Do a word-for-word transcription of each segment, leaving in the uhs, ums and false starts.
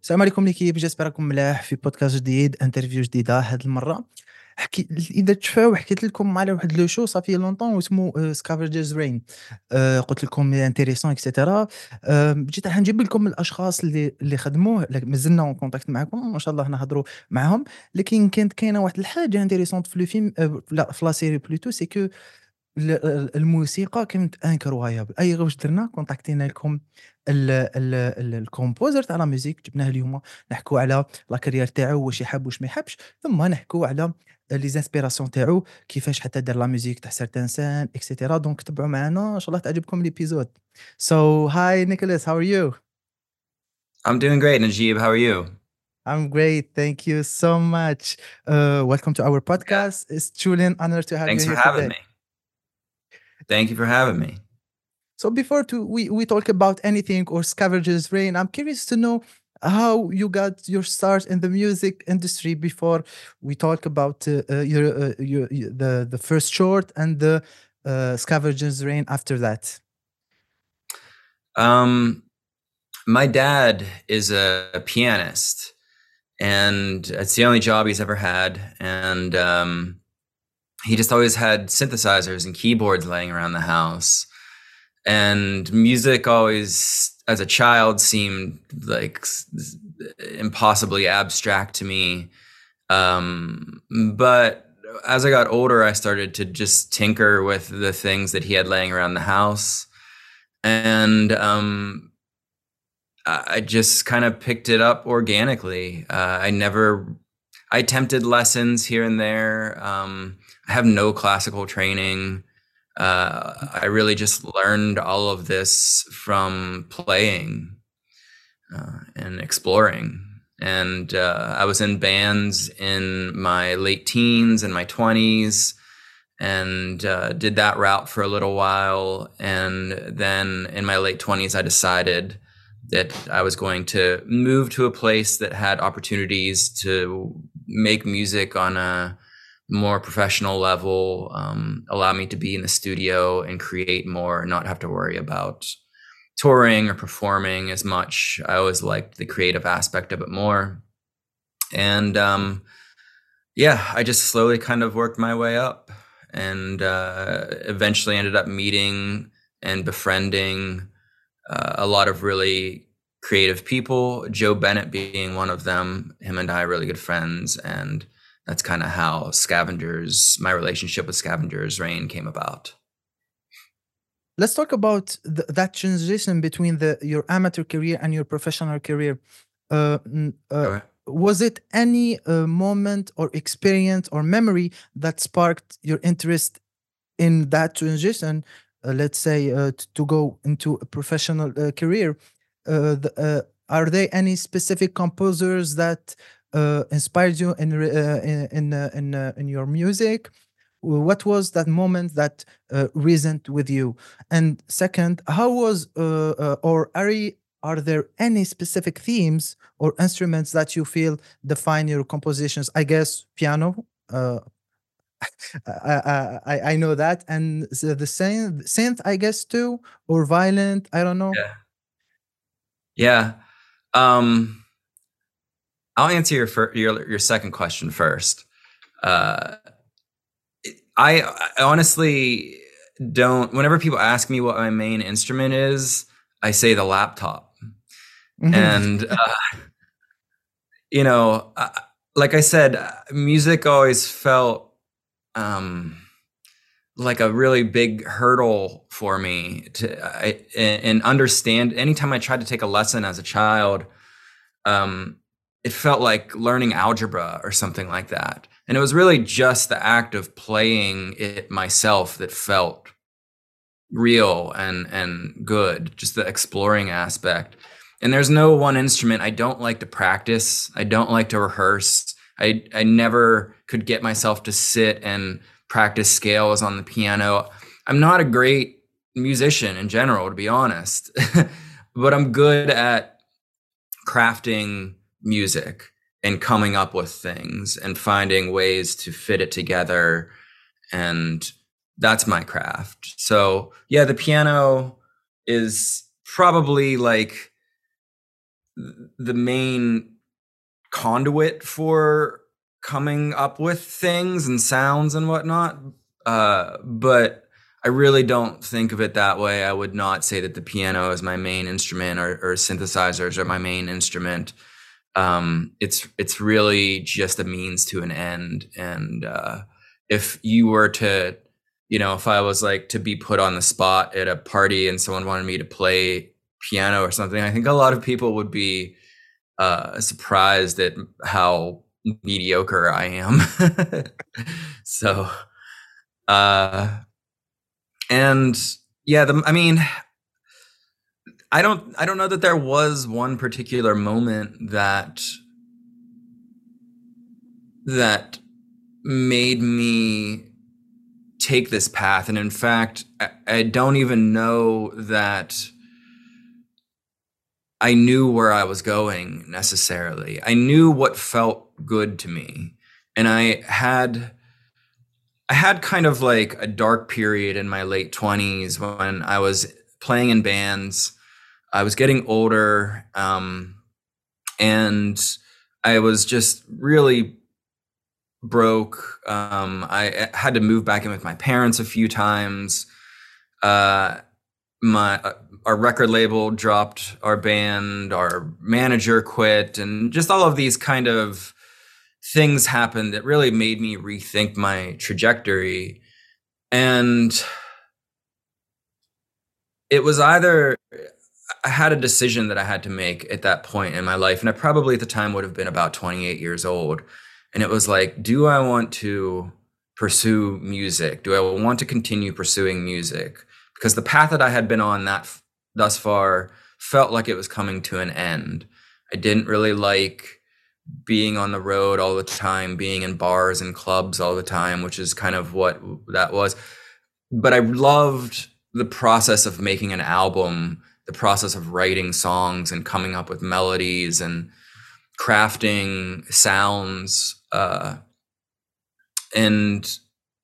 السلام عليكم ليكيب، جيسبر راكم ملاح في بودكاست جديد، انترفيو جديده هاد المره. حكي اذا تشفاو حكيت لكم على واحد لو شو صافي لونطون واسمه سكافرجرز رين. قلت لكم انتريسون اكسيتيرا. آه، جيت راح نجيب لكم الاشخاص اللي اللي خدموه، لك- مازلنا اون كونتاكت معكم ما شاء الله نهضروا معاهم. لكن كانت كاينه واحد الحاجه انتريسونت في لو فيلم، آه، لا في لا سيري بلوتو، سي كو ال ال الموسيقى كانت incroyable. أي غير واش درنا كونتاكتينا لكم ال ال ال الكومبوزر تاع لا ميوزيك، جبناه اليوم نحكوا على لا كارير تاعو، واش يحب واش ما يحبش، ثم نحكوا على لي زانسبيراسيون تاعو، كيفاش حتى دار لا ميوزيك تاع certains scènes إكسيتيرا. دونك تبعوا معنا إن شاء الله تعجبكم الإبيزود. So hi Nicholas, how are you? I'm doing great, Najib. How are you? I'm great, thank you so much. Uh, welcome to our Yeah. podcast. It's truly an honor to have you Thanks for here having today. me. Thank you for having me. So before to we, we talk about anything or Scavenger's Rain, I'm curious to know how you got your start in the music industry before we talk about uh, uh, your, uh, your your- the the first short and the uh, Scavenger's Rain after that. Um, my dad is a pianist, and it's the only job he's ever had. And um, he just always had synthesizers and keyboards laying around the house. And music always, as a child, seemed like s- impossibly abstract to me. Um, but as I got older, I started to just tinker with the things that he had laying around the house. And um, I I just kind of picked it up organically. Uh, I never, I attempted lessons here and there. Um, I have no classical training. Uh, I really just learned all of this from playing uh, and exploring. And uh, I was in bands in my late teens and my twenties, and uh, did that route for a little while. And then in my late twenties, I decided that I was going to move to a place that had opportunities to make music on a more professional level, um, allow me to be in the studio and create more and not have to worry about touring or performing as much. I always liked the creative aspect of it more. And um, yeah, I just slowly kind of worked my way up, and uh, eventually ended up meeting and befriending uh, a lot of really creative people, Joe Bennett being one of them. Him and I are really good friends. And that's kind of how Scavengers, my relationship with Scavengers Rain came about. Let's talk about th- that transition between the your amateur career and your professional career. Uh, mm, uh, Okay. was it any uh, moment or experience or memory that sparked your interest in that transition, uh, let's say, uh, t- to go into a professional uh, career? Uh, the, uh, are there any specific composers that uh, inspired you in re- uh, in in, uh, in, uh, in your music? What was that moment that uh, resoned with you? And second, how was uh, uh, or are y- are there any specific themes or instruments that you feel define your compositions? I guess piano. Uh, I, I I I know that, and the, the synth, synth, I guess too, or violent. I don't know. Yeah. Yeah. Um, I'll answer your fir- your your second question first. Uh, I, I honestly don't. Whenever people ask me what my main instrument is, I say the laptop. Mhm. And uh, you know, uh, like I said, uh, music always felt um, like a really big hurdle for me to I, and understand. Anytime I tried to take a lesson as a child, um, it felt like learning algebra or something like that. And it was really just the act of playing it myself that felt real and and good, just the exploring aspect. And there's no one instrument. I don't like to practice. I don't like to rehearse. I I never could get myself to sit and practice scales on the piano. I'm not a great musician in general, to be honest. But I'm good at crafting music and coming up with things and finding ways to fit it together, and that's my craft. So yeah, the piano is probably like the main conduit for coming up with things and sounds and whatnot. Uh, but I really don't think of it that way. I would not say that the piano is my main instrument, or, or synthesizers are my main instrument. Um, it's it's really just a means to an end. And uh, if you were to, you know, if I was like to be put on the spot at a party and someone wanted me to play piano or something, I think a lot of people would be uh, surprised at how mediocre I am. So, uh, and yeah, the, I mean, I don't, I don't know that there was one particular moment that, that made me take this path. And in fact, I, I don't even know that I knew where I was going necessarily. I knew what felt good to me. And I had I had kind of like a dark period in my late twenties when I was playing in bands. I was getting older, um, and I was just really broke. Um, I had to move back in with my parents a few times. Uh, my uh, our record label dropped our band, our manager quit, and just all of these kind of things happened that really made me rethink my trajectory. And it was either I had a decision that I had to make at that point in my life, and I probably at the time would have been about twenty-eight years old. And it was like, do I want to pursue music? Do I want to continue pursuing music? Because the path that I had been on that f- thus far felt like it was coming to an end. I didn't really like being on the road all the time, being in bars and clubs all the time, which is kind of what that was. But I loved the process of making an album, the process of writing songs and coming up with melodies and crafting sounds. Uh, and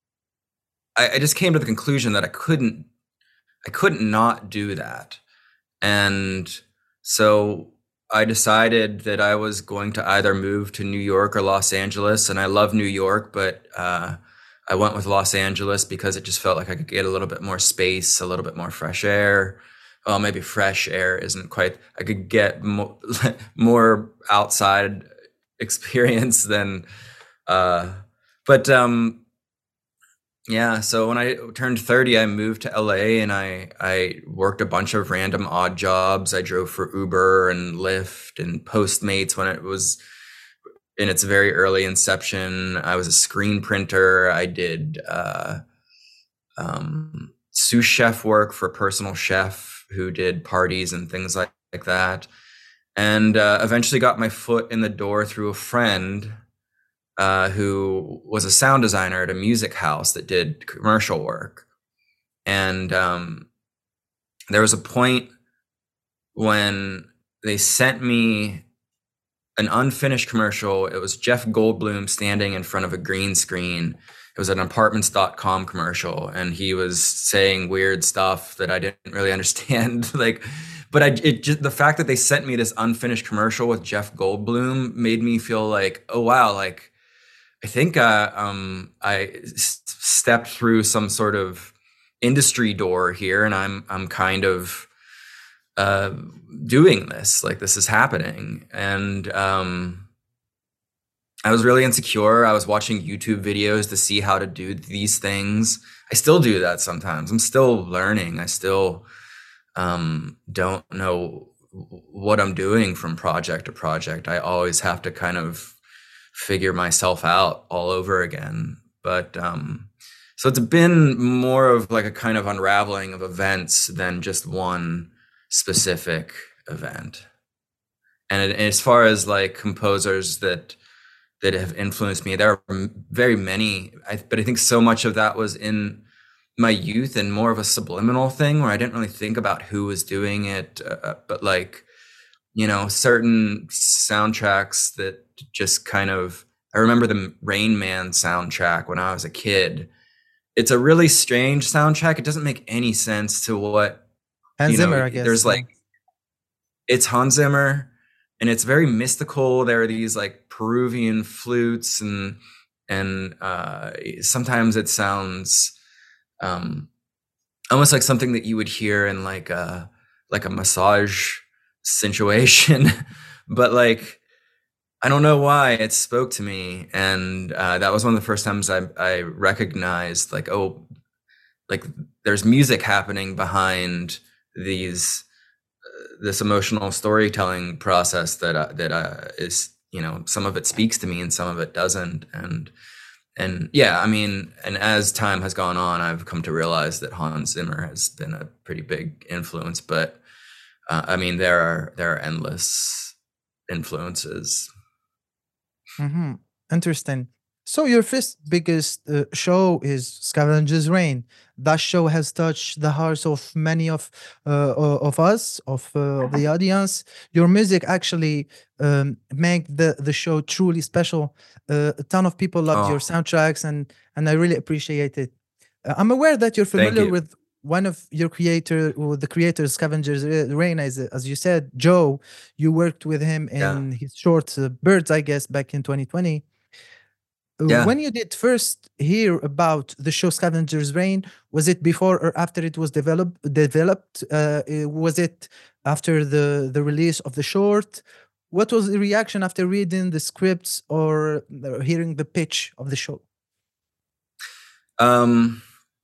I, I just came to the conclusion that I couldn't, I couldn't not do that. And so I decided that I was going to either move to New York or Los Angeles. And I love New York, but uh, I went with Los Angeles because it just felt like I could get a little bit more space, a little bit more fresh air. Well, maybe fresh air isn't quite, I could get more, more outside experience than, uh, but um, yeah, so when I turned thirty, I moved to L A and I I worked a bunch of random odd jobs. I drove for Uber and Lyft and Postmates when it was in its very early inception. I was a screen printer. I did uh, um, sous chef work for a personal chef who did parties and things like, like that. And uh, eventually got my foot in the door through a friend uh, who was a sound designer at a music house that did commercial work. And um, there was a point when they sent me an unfinished commercial. It was Jeff Goldblum standing in front of a green screen. It was an apartments dot com commercial, and he was saying weird stuff that I didn't really understand. Like, but I, it just, the fact that they sent me this unfinished commercial with Jeff Goldblum made me feel like, oh wow, like I think uh, um, I s- stepped through some sort of industry door here, and I'm I'm kind of uh, doing this. Like this is happening, and um, I was really insecure. I was watching YouTube videos to see how to do these things. I still do that sometimes. I'm still learning. I still um, don't know what I'm doing from project to project. I always have to kind of figure myself out all over again. But um, so it's been more of like a kind of unraveling of events than just one specific event. And it, as far as like composers that that have influenced me, there are very many, I, but I think so much of that was in my youth and more of a subliminal thing where I didn't really think about who was doing it, uh, but like, you know, certain soundtracks that just kind of, I remember the Rain Man soundtrack when I was a kid. It's a really strange soundtrack. It doesn't make any sense to what, Hans you know, Zimmer, I guess. there's Yeah. like, it's Hans Zimmer. and it's very mystical. There are these like Peruvian flutes, and and uh, sometimes it sounds um, almost like something that you would hear in like a like a massage situation, but like I don't know why it spoke to me, and uh, that was one of the first times I I recognized like, oh, like there's music happening behind these this emotional storytelling process that uh, that uh, is, you know, some of it speaks to me and some of it doesn't, and and yeah, I mean, and as time has gone on, I've come to realize that Hans Zimmer has been a pretty big influence. But uh, I mean, there are there are endless influences. Mhm. Interesting. So your first biggest uh, show is Scavenger's Reign. That show has touched the hearts of many of uh, o- of us, of, uh, of the audience. Your music actually um, make the the show truly special. Uh, a ton of people loved your Oh, soundtracks, and and I really appreciate it. Uh, I'm aware that you're thank familiar you. with one of your creator, or the creator of Scavenger's Re- Reign, as as you said, Joe. You worked with him Yeah, in his short uh, Birds, I guess, back in twenty twenty. Uh, yeah. When you did first hear about the show Scavenger's Reign, was it before or after it was developed? Developed? Uh, uh, was it after the the release of the short? What was the reaction after reading the scripts or uh, hearing the pitch of the show? Um,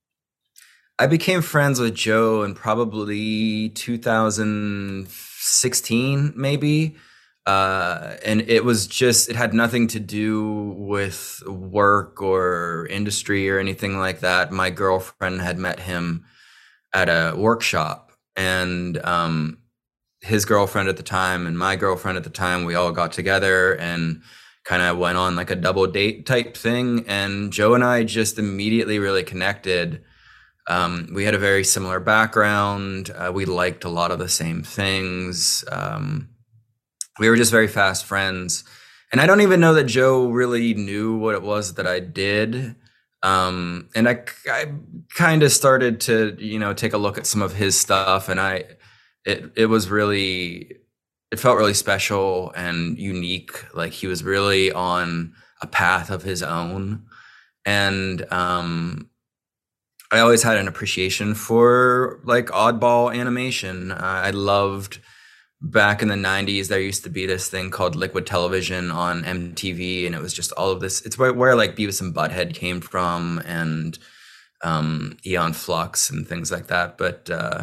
I became friends with Joe in probably two thousand sixteen, maybe. Uh, and it was just, it had nothing to do with work or industry or anything like that. My girlfriend had met him at a workshop, and um, his girlfriend at the time and my girlfriend at the time, we all got together and kind of went on like a double date type thing. And Joe and I just immediately really connected. Um, we had a very similar background. Uh, we liked a lot of the same things. Um, we were just very fast friends. And I don't even know that Joe really knew what it was that I did. Um, and I, I kind of started to, you know, take a look at some of his stuff, and I, it, it was really, it felt really special and unique. Like he was really on a path of his own. And, um, I always had an appreciation for like oddball animation. Uh, I loved back in the nineties, there used to be this thing called Liquid Television on M T V, and it was just all of this. It's where, where like Beavis and Butthead came from, and um, Eon Flux and things like that. But uh,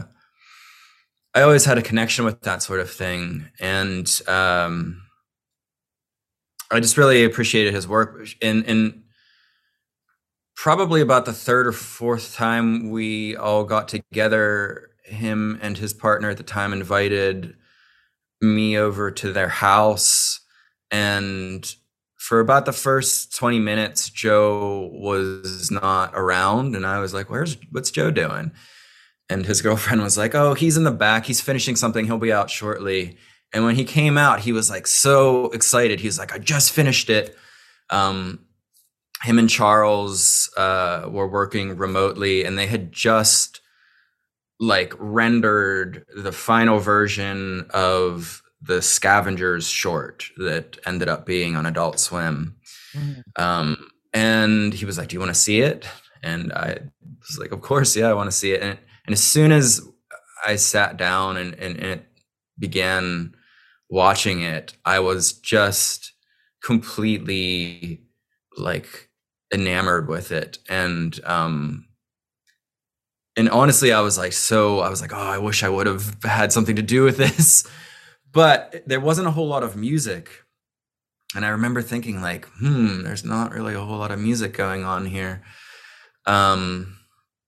I always had a connection with that sort of thing, and um, I just really appreciated his work. And, and probably about the third or fourth time we all got together, him and his partner at the time invited me over to their house, and for about the first twenty minutes Joe was not around, and I was like, where's what's Joe doing? And his girlfriend was like, oh, he's in the back, he's finishing something, he'll be out shortly. And when he came out, he was like so excited. He's like, I just finished it. um Him and Charles uh were working remotely, and they had just like rendered the final version of the Scavengers short that ended up being on Adult Swim. Mhm. Um, and he was like, do you want to see it? And I was like, of course, yeah, I want to see it. And, and as soon as I sat down and, and, and it began watching it, I was just completely like enamored with it. And um and honestly, I was like, so I was like, oh, I wish I would have had something to do with this. But there wasn't a whole lot of music. And I remember thinking like, hmm, there's not really a whole lot of music going on here. Um,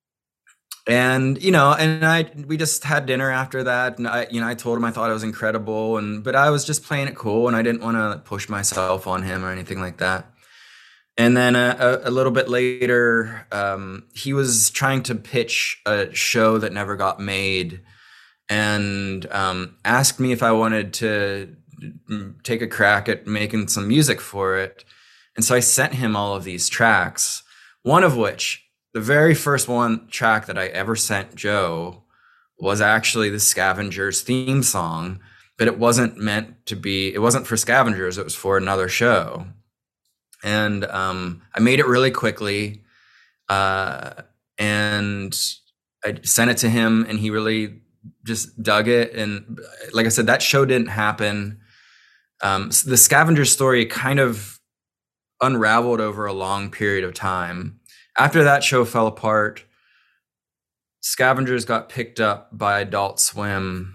and you know, and I we just had dinner after that, and I, you know, I told him I thought it was incredible, and but I was just playing it cool, and I didn't want to push myself on him or anything like that. And then a, a, a little bit later, um, he was trying to pitch a show that never got made, and um, asked me if I wanted to take a crack at making some music for it. And so I sent him all of these tracks, one of which, the very first one track that I ever sent Joe, was actually the Scavengers theme song but it wasn't meant to be. It wasn't for Scavengers. It was for another show, and um, I made it really quickly, uh, and I sent it to him, and he really just dug it. And like I said, that show didn't happen. Um, the Scavenger story kind of unraveled over a long period of time. After that show fell apart, Scavengers got picked up by Adult Swim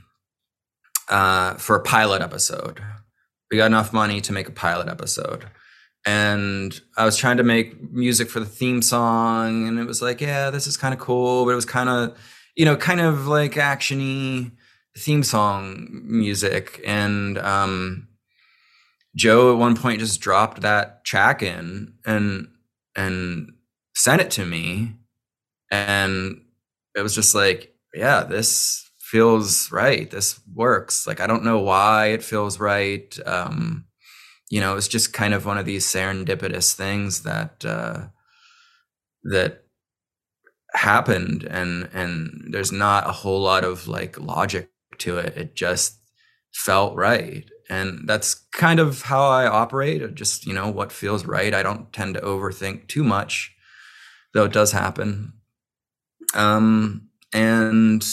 uh, for a pilot episode. We got enough money to make a pilot episode. And I was trying to make music for the theme song, and it was like, yeah, this is kind of cool, but it was kind of, you know, kind of like action-y theme song music. And um, Joe at one point just dropped that track in and and sent it to me, and it was just like, yeah, this feels right. This works. Like, I don't know why it feels right. Um, you know, it's just kind of one of these serendipitous things that uh, that happened, and and there's not a whole lot of like logic to it. It just felt right, and that's kind of how I operate. Just, you know, what feels right. I don't tend to overthink too much, though it does happen. Um, and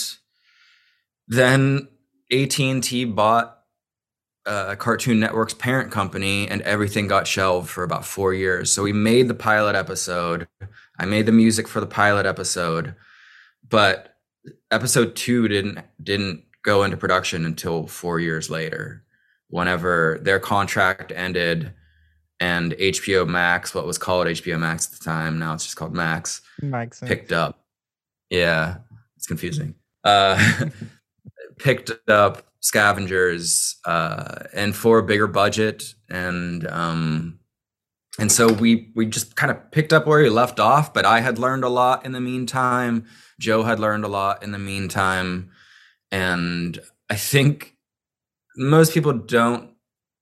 then A T and T bought uh, Cartoon Network's parent company, and everything got shelved for about four years. So we made the pilot episode. I made the music for the pilot episode, but episode two didn't didn't go into production until four years later, whenever their contract ended, and H B O Max, what was called H B O Max at the time, now it's just called Max, Max picked up. Yeah, it's confusing. Uh, picked up Scavengers, uh, and for a bigger budget, and um, and so we we just kind of picked up where we left off. But I had learned a lot in the meantime. Joe had learned a lot in the meantime, and I think most people don't.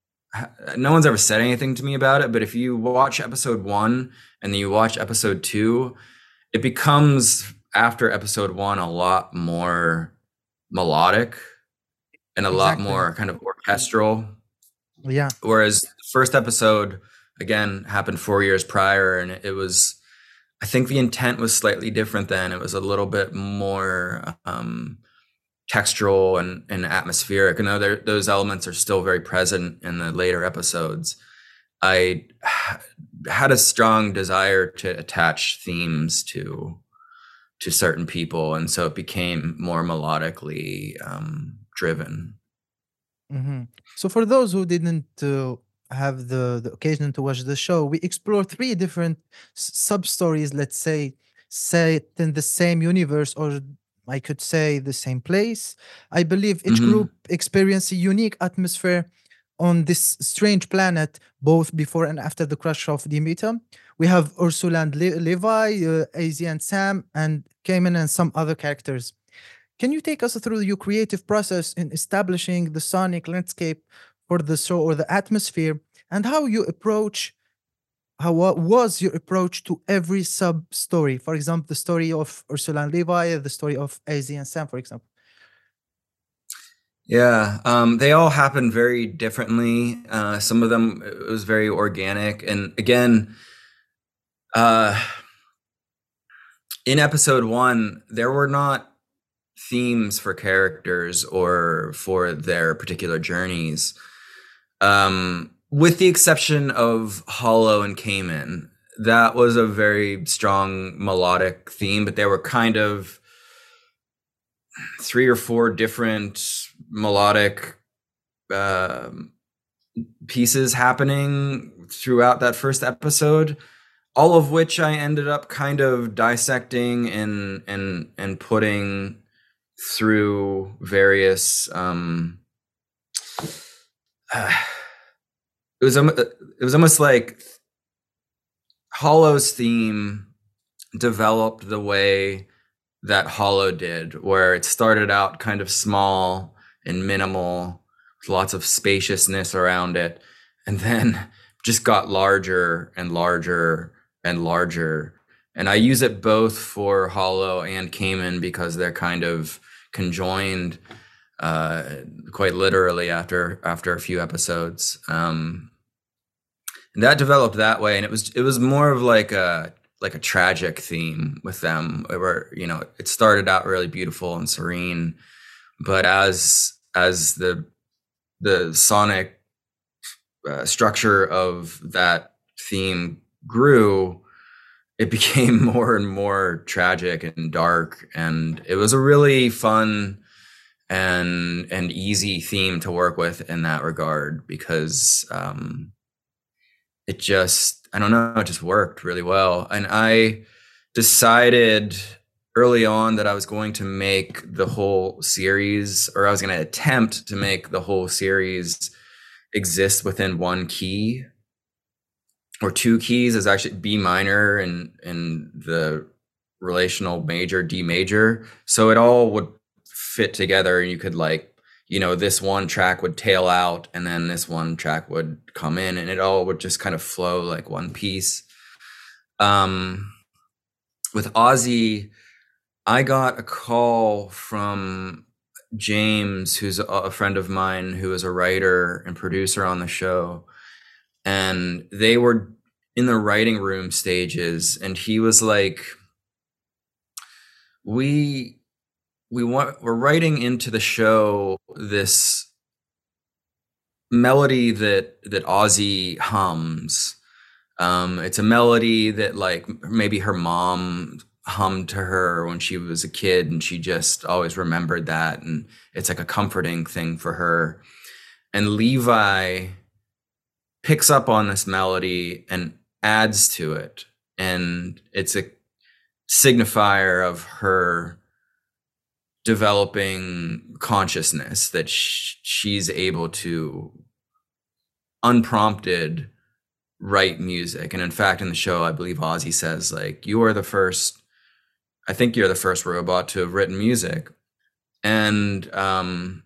No one's ever said anything to me about it, but if you watch episode one and then you watch episode two, it becomes, after episode one, a lot more melodic and a Exactly. lot more kind of orchestral. Yeah. Whereas the first episode, again, happened four years prior, and it was, I think the intent was slightly different then. It was a little bit more um, textural and, and atmospheric. And though there, those elements are still very present in the later episodes, I had a strong desire to attach themes to to certain people, and so it became more melodically um, driven. Mm-hmm. So for those who didn't uh, have the, the occasion to watch the show, we explore three different sub stories, let's say, set in the same universe, or I could say the same place. I believe each Mm-hmm. group experienced a unique atmosphere on this strange planet, both before and after the crash of Demeter. We have Ursula and Le- Levi, uh, A Z and Sam, and Cayman, and some other characters. Can you take us through your creative process in establishing the sonic landscape for the show, or the atmosphere, and how you approach, how wa- was your approach to every sub story? For example, the story of Ursula and Levi, the story of A Z and Sam, for example. Yeah, um, they all happened very differently. Uh, some of them, it was very organic. And again, uh, in episode one, there were not themes for characters or for their particular journeys, um, with the exception of Hollow and Cayman. That was a very strong melodic theme, but there were kind of three or four different melodic uh, pieces happening throughout that first episode, all of which I ended up kind of dissecting and and and putting through various. Um, uh, it was it was almost like Hollow's theme developed the way that Hollow did, where it started out kind of small and minimal, with lots of spaciousness around it, and then just got larger and larger and larger. And I use it both for Hollow and Cayman because they're kind of conjoined. uh, quite literally after after a few episodes. Um, and that developed that way, and it was it was more of like a like a tragic theme with them, where you know it started out really beautiful and serene, but as as the the sonic uh, structure of that theme grew, it became more and more tragic and dark, and it was a really fun and and easy theme to work with in that regard, because um, it just, I don't know, it just worked really well. And I decided early on that I was going to make the whole series, or I was going to attempt to make the whole series exist within one key or two keys. Is actually B minor and and the relational major D major, so it all would fit together, and you could, like, you know, this one track would tail out and then this one track would come in, and it all would just kind of flow like one piece. Um, with Ozzy, I got a call from James, who's a friend of mine, who is a writer and producer on the show, and they were in the writing room stages, and he was like, we we want we're writing into the show this melody that that Ozzy hums. Um, it's a melody that, like, maybe her mom hummed to her when she was a kid, and she just always remembered that, and it's like a comforting thing for her. And Levi picks up on this melody and adds to it, and it's a signifier of her developing consciousness, that sh- she's able to unprompted write music. And in fact, in the show, I believe Ozzy says, like, you are the first, I think you're the first robot to have written music. And um,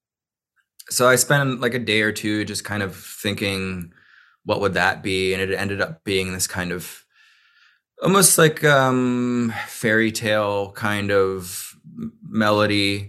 so I spent like a day or two just kind of thinking, what would that be? And it ended up being this kind of almost like um, fairy tale kind of melody.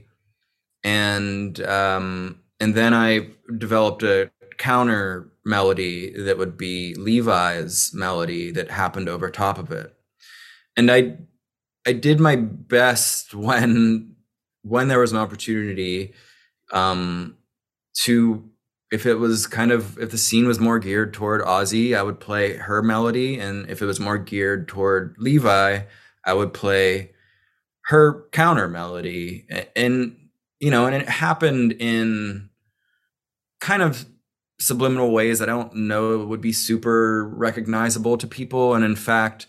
And um, and then I developed a counter melody that would be Levi's melody that happened over top of it. And I I did my best when when there was an opportunity um, to, if it was kind of, if the scene was more geared toward Ozzy, I would play her melody, and if it was more geared toward Levi, I would play her counter melody. And you know, and it happened in kind of subliminal ways that I don't know would be super recognizable to people. And in fact,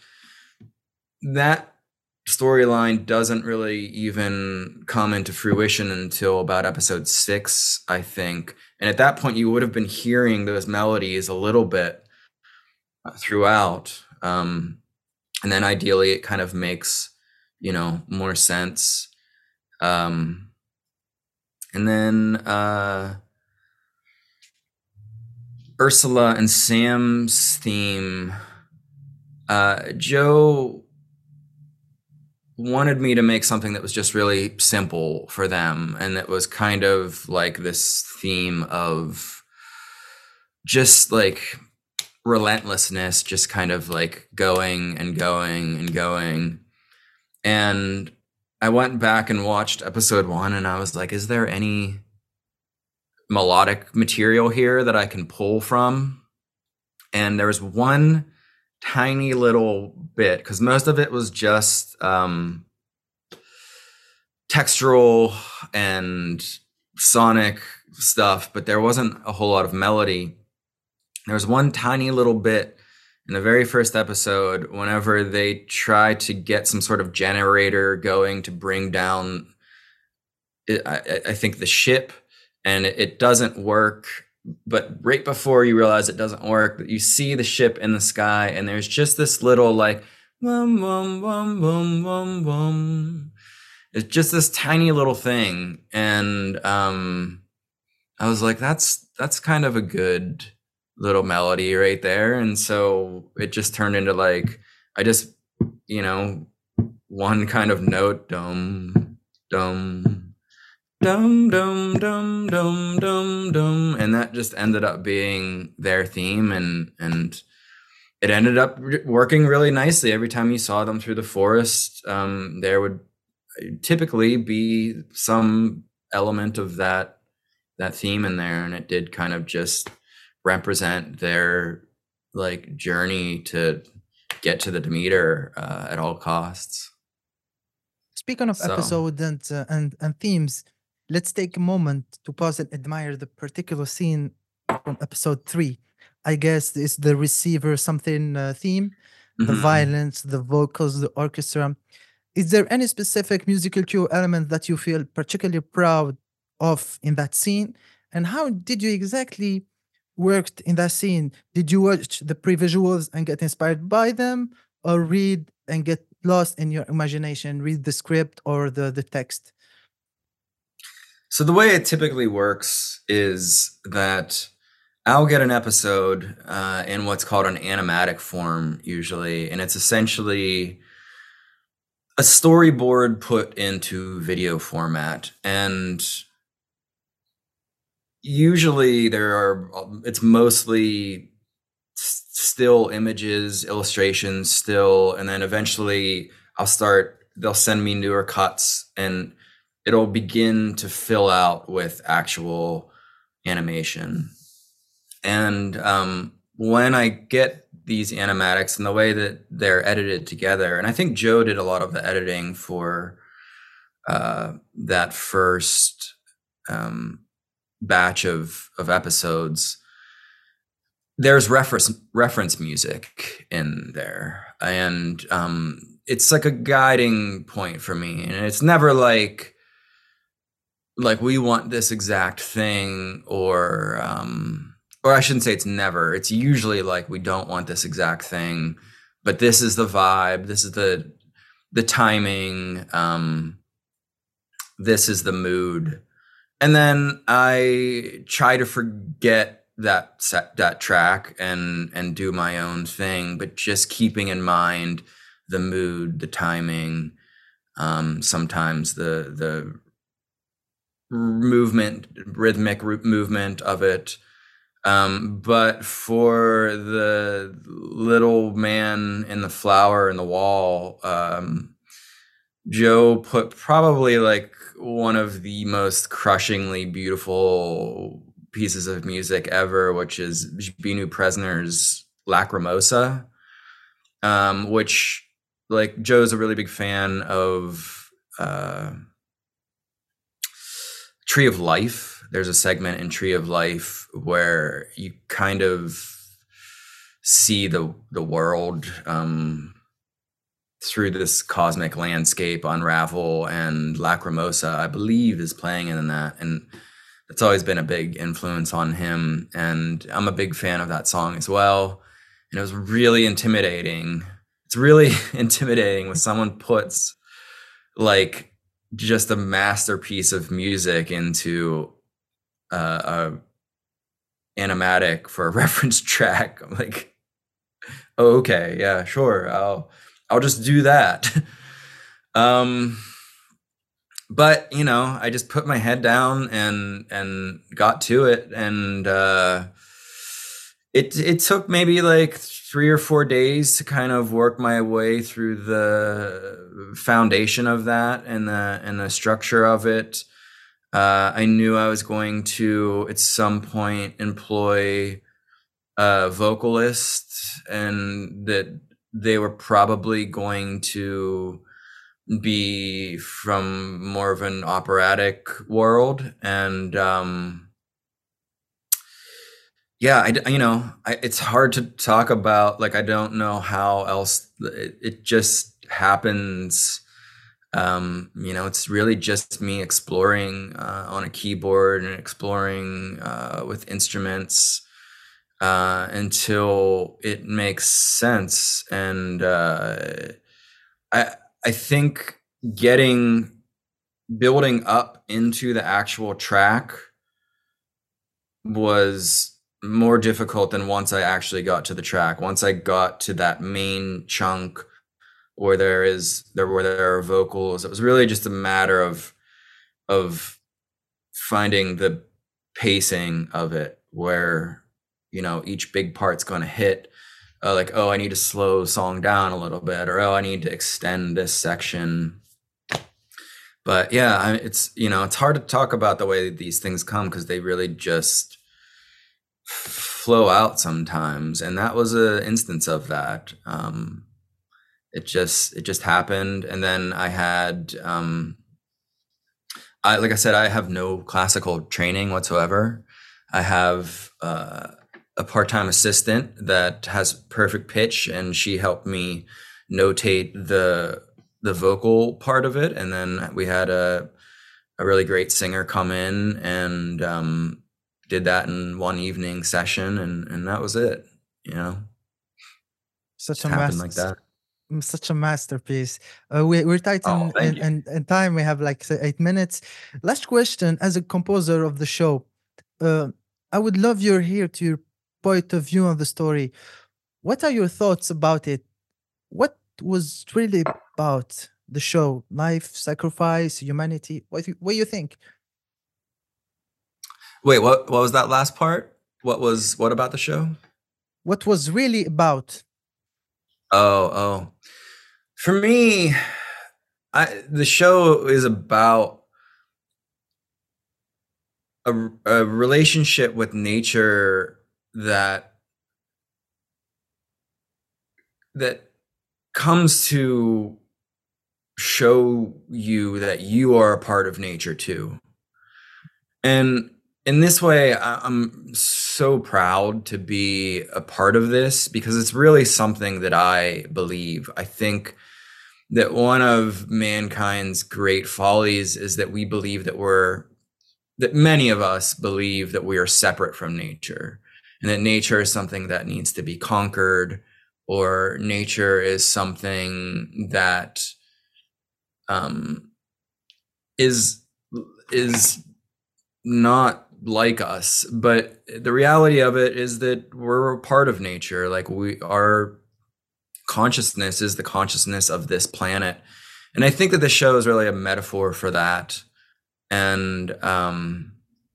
that storyline doesn't really even come into fruition until about episode six, I think. And at that point, you would have been hearing those melodies a little bit throughout. Um, and then ideally, it kind of makes, you know, more sense. Um, and then uh, Ursula and Sam's theme, uh, Joe wanted me to make something that was just really simple for them, and that was kind of like this theme of just like relentlessness, just kind of like going and going and going. And I went back and watched episode one, and I was like, is there any melodic material here that I can pull from? And there was one tiny little bit, because most of it was just um, textural and sonic stuff, but there wasn't a whole lot of melody. There was one tiny little bit in the very first episode, whenever they try to get some sort of generator going to bring down, I, I think, the ship, and it, it doesn't work. But right before you realize it doesn't work, you see the ship in the sky, and there's just this little like, wum, wum, wum, wum, wum, wum. It's just this tiny little thing. And um, I was like, that's that's kind of a good little melody right there. And so it just turned into like, I just, you know, one kind of note, dum, dum, dum dum dum dum dum dum, and that just ended up being their theme, and and it ended up re- working really nicely. Every time you saw them through the forest, um, there would typically be some element of that that theme in there, and it did kind of just represent their like journey to get to the Demeter uh, at all costs. Speaking of So. episode and, uh, and and themes, let's take a moment to pause and admire the particular scene from episode three. I guess it's the receiver something uh, theme, the Mhm. violence, the vocals, the orchestra. Is there any specific musical cue element that you feel particularly proud of in that scene? And how did you exactly worked in that scene? Did you watch the pre-visuals and get inspired by them, or read and get lost in your imagination, read the script or the, the text? So the way it typically works is that I'll get an episode uh, in what's called an animatic form usually, and it's essentially a storyboard put into video format. And usually there are, it's mostly s- still images, illustrations still, and then eventually I'll start, they'll send me newer cuts and it'll begin to fill out with actual animation. And um, when I get these animatics and the way that they're edited together, and I think Joe did a lot of the editing for uh, that first um, batch of of episodes. There's reference reference music in there, and um, it's like a guiding point for me. And it's never like like we want this exact thing, or um, or I shouldn't say it's never. It's usually like we don't want this exact thing, but this is the vibe. This is the the timing. Um, this is the mood. And then I try to forget that set, that track and and do my own thing, but just keeping in mind the mood, the timing, um, sometimes the the movement, rhythmic movement of it. Um, but for the little man in the flower in the wall, um, Joe put probably like one of the most crushingly beautiful pieces of music ever, which is Binu Presner's Lacrimosa, um, which like Joe's a really big fan of uh, Tree of Life. There's a segment in Tree of Life where you kind of see the the world um, through this cosmic landscape unravel, and Lacrimosa, I believe, is playing in that, and it's always been a big influence on him, and I'm a big fan of that song as well. And it was really intimidating. It's really intimidating when someone puts like just a masterpiece of music into uh, a animatic for a reference track. I'm like, oh, okay, yeah, sure, I'll I'll just do that. um, but you know, I just put my head down and and got to it, and uh, it it took maybe like three or four days to kind of work my way through the foundation of that and the and the structure of it. Uh, I knew I was going to at some point employ a vocalist, and that they were probably going to be from more of an operatic world. And um, yeah, I, you know, I, it's hard to talk about. Like, I don't know how else it, it just happens. Um, you know, it's really just me exploring uh, on a keyboard and exploring uh, with instruments uh, until it makes sense. And uh, I I think getting building up into the actual track was more difficult than once I actually got to the track. Once I got to that main chunk where there is there where there are vocals, it was really just a matter of of finding the pacing of it where, you know, each big part's going to hit, uh, like, oh, I need to slow song down a little bit, or oh, I need to extend this section. But yeah, I, it's, you know, it's hard to talk about the way these things come because they really just flow out sometimes. And that was an instance of that. Um, it just, it just happened. And then I had, um, I, like I said, I have no classical training whatsoever. I have uh, a part-time assistant that has perfect pitch, and she helped me notate the the vocal part of it. And then we had a a really great singer come in and um, did that in one evening session, and and that was it. You know, Such just a happened like master, that. such a masterpiece. Uh, we, we're tight Oh, in, thank in, you. in, in time. We have like say, eight minutes. Last question: as a composer of the show, uh, I would love your here to your point of view on the story. What are your thoughts about it? What was really about the show? Life, sacrifice, humanity. What do you, what do you think? Wait, what what was that last part? What was what about the show? What was really about? Oh, oh. For me, I the show is about a, a relationship with nature that that comes to show you that you are a part of nature too. And in this way, I- I'm so proud to be a part of this because it's really something that I believe. I think that one of mankind's great follies is that we believe that we're that many of us believe that we are separate from nature, and that nature is something that needs to be conquered, or nature is something that um, is is not like us. But the reality of it is that we're a part of nature. Like we our consciousness is the consciousness of this planet, and I think that the show is really a metaphor for that. And um,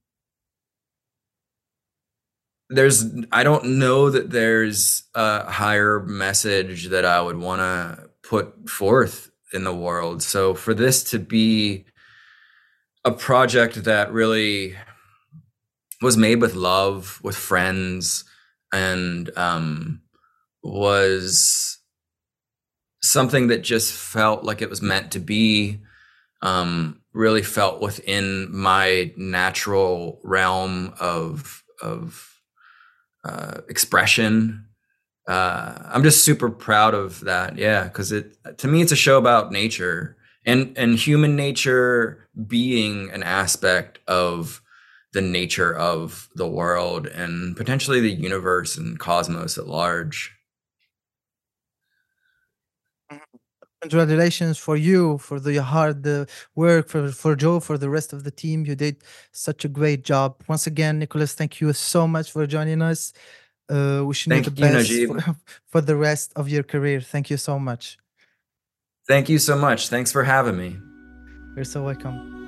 there's I don't know that there's a higher message that I would want to put forth in the world. So for this to be a project that really was made with love, with friends, and um, was something that just felt like it was meant to be, um, really felt within my natural realm of of uh, expression. Uh, I'm just super proud of that. Yeah, because it to me it's a show about nature and and human nature being an aspect of the nature of the world and potentially the universe and cosmos at large. Congratulations for you for the hard uh, work for for Joe for the rest of the team. You did such a great job. Once again, Nicholas, thank you so much for joining us. Uh, wishing you the Thank you, best Najib. for for the rest of your career. Thank you so much. Thank you so much. Thanks for having me. You're so welcome.